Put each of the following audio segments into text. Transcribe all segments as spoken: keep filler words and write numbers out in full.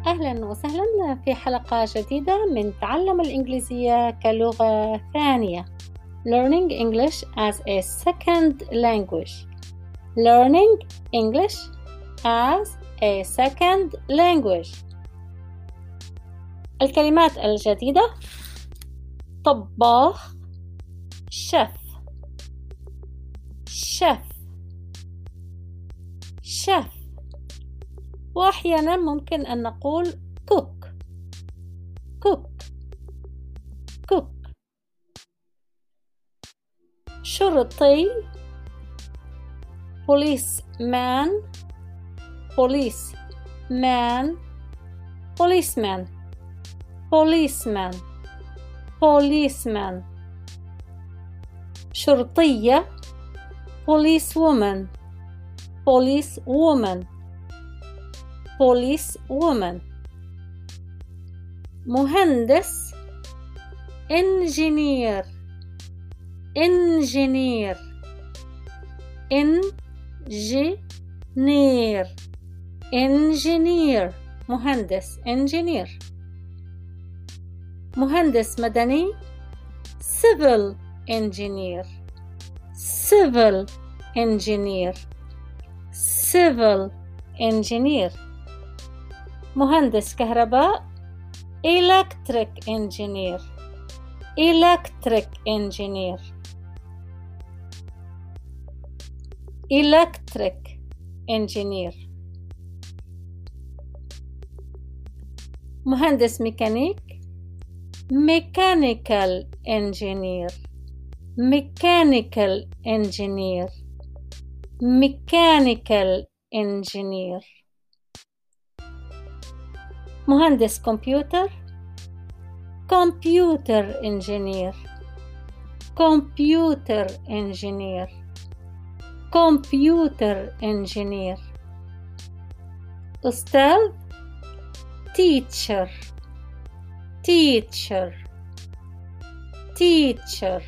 أهلا وسهلا في حلقة جديدة من تعلم الإنجليزية كلغة ثانية. Learning English as a second language. Learning English as a second language. الكلمات الجديدة: طباخ، شيف، شيف، شيف. وأحيانا ممكن أن نقول cook cook cook. شرطي policeman policeman policeman policeman policeman. شرطية policewoman policewoman policewoman. مهندس engineer engineer engineer engineer. مهندس engineer. مهندس مدني civil engineer civil engineer civil engineer. مهندس كهرباء electric engineer electric engineer electric engineer. مهندس ميكانيك mechanical engineer mechanical engineer mechanical engineer. مهندس كمبيوتر computer engineer computer engineer computer engineer. أستاذ teacher teacher teacher.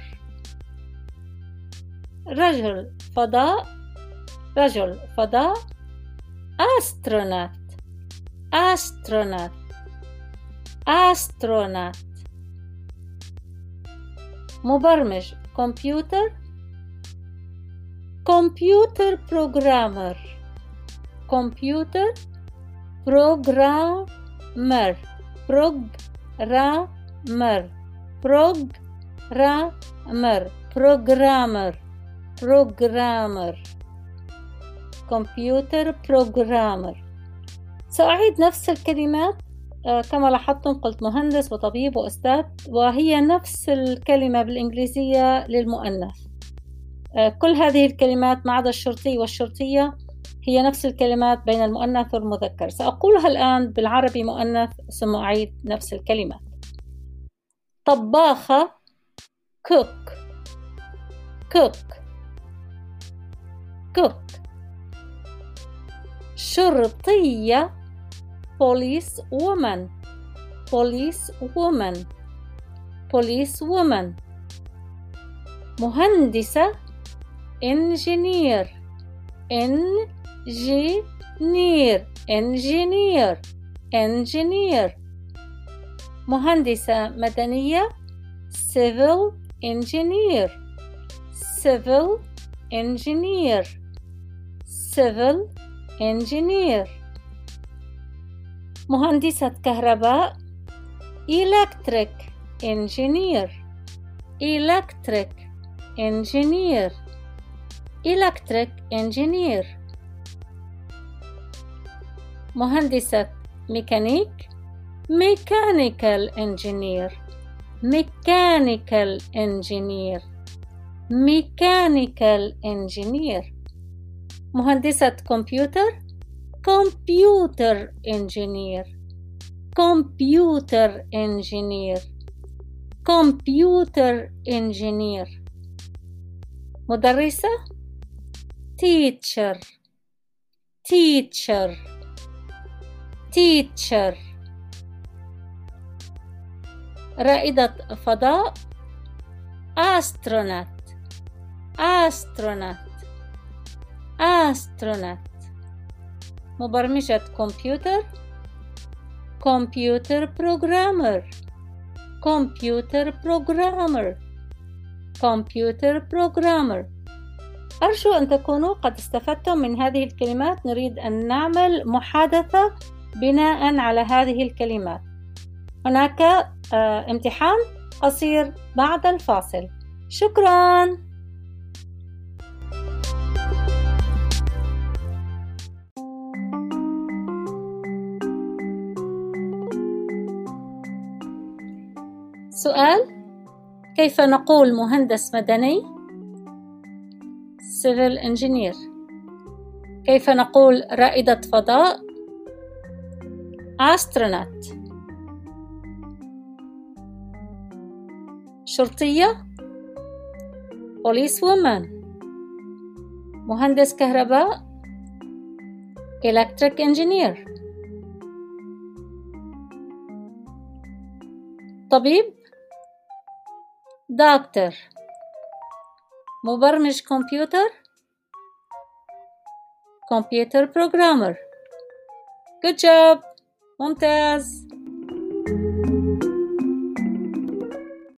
رجل فضاء رجل فضاء astronaut astronaut astronaut. مبرمج كمبيوتر computer programmer computer programmer programmer programmer programmer programmer computer programmer. سأعيد نفس الكلمات. آه كما لاحظتم قلت مهندس وطبيب وأستاذ، وهي نفس الكلمة بالإنجليزية للمؤنث. آه كل هذه الكلمات ما عدا الشرطي والشرطية هي نفس الكلمات بين المؤنث والمذكر. سأقولها الآن بالعربي مؤنث ثم أعيد نفس الكلمات. طباخة cook cook cook. شرطية police woman police woman police woman. مهندسة engineer engineer engineer engineer. مهندسة مدنية civil engineer civil engineer civil engineer. مهندسة كهرباء electric engineer electric engineer electric engineer. مهندسة ميكانيك mechanical engineer mechanical engineer mechanical engineer. مهندسة كمبيوتر computer engineer computer engineer computer engineer. مدرسة teacher teacher teacher. رائدة فضاء astronaut astronaut astronaut. مبرمجة كمبيوتر computer programmer computer programmer computer programmer. أرجو أن تكونوا قد استفدتم من هذه الكلمات. نريد أن نعمل محادثة بناء على هذه الكلمات. هناك آه امتحان قصير بعد الفاصل. شكراً. سؤال: كيف نقول مهندس مدني؟ civil engineer. كيف نقول رائدة فضاء؟ astronaut. شرطية police woman. مهندس كهرباء electric engineer. طبيب doctor. مبرمج كمبيوتر computer programmer. good job. ممتاز.